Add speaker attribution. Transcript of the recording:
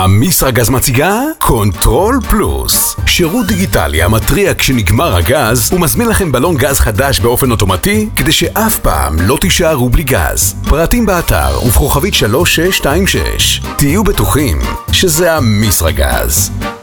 Speaker 1: אמיסרגז מציגה קונטרול פלוס, שירות דיגיטלי המתריע כשנגמר הגז ומזמין לכם בלון גז חדש באופן אוטומטי כדי שאף פעם לא תישארו בלי גז. פרטים באתר ובכוכבית 3626. תהיו בטוחים שזה אמיסרגז.